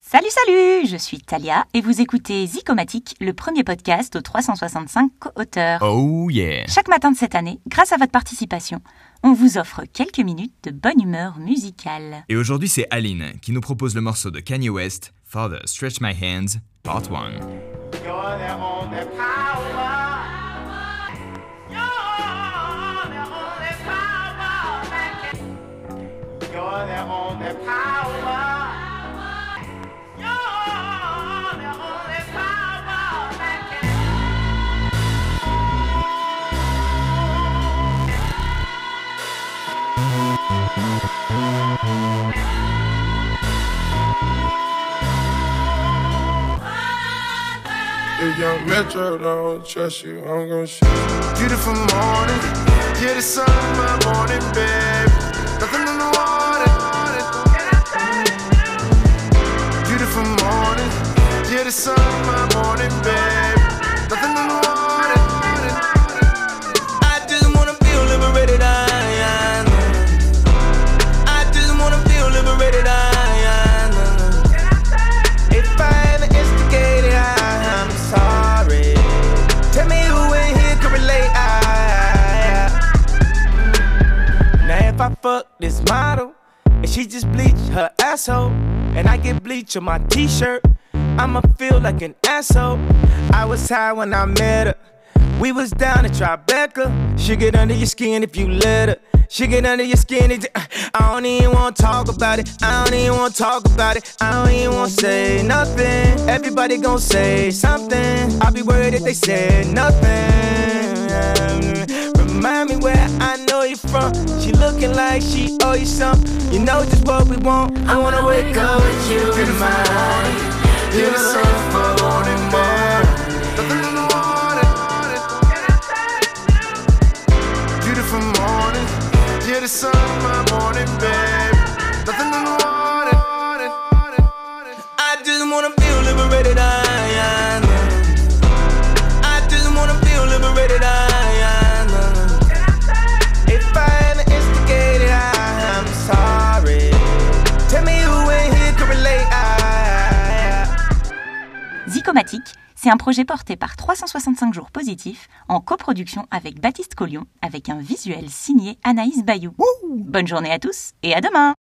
Salut, je suis Talia et vous écoutez Zicomatique, le premier podcast aux 365 co-auteurs. Oh yeah! Chaque matin de cette année, grâce à votre participation, on vous offre quelques minutes de bonne humeur musicale. Et aujourd'hui, c'est Aline qui nous propose le morceau de Kanye West, Father Stretch My Hands, Part 1. If young Metro don't trust you, I'm gon' shoot you. Beautiful morning, yeah, the sun in my morning, babe. Nothing in the water. Beautiful morning, yeah, the sun in my morning, babe. Nothing in the water. I just wanna feel liberated, I just wanna feel liberated, If I ever instigated, I'm sorry. Tell me who in here can relate. Now if I fuck this model and she just bleach her asshole, and I get bleach on my t-shirt, I'ma feel like an asshole. I was high when I met her. We was down at Tribeca. She get under your skin if you let her. She get under your skin. I don't even wanna talk about it. I don't even wanna talk about it. I don't even wanna say nothing. Everybody gon' say something. I'll be worried if they said nothing. Remind me where I know you from. She looking like she owe you something. You know just what we want. I wanna wake up with you in my morning. You're the sun for morning, nothing in the water. Beautiful morning. Yeah, the sun in my morning, babe. Nothing in the water. I just wanna feel liberated, I just wanna feel liberated, If I ever instigated, I'm sorry. Tell me who in here can relate. Zicomatique, c'est un projet porté par 365 jours positifs en coproduction avec Baptiste Collion avec un visuel signé Anaïs Bayou. Bonne journée à tous et à demain!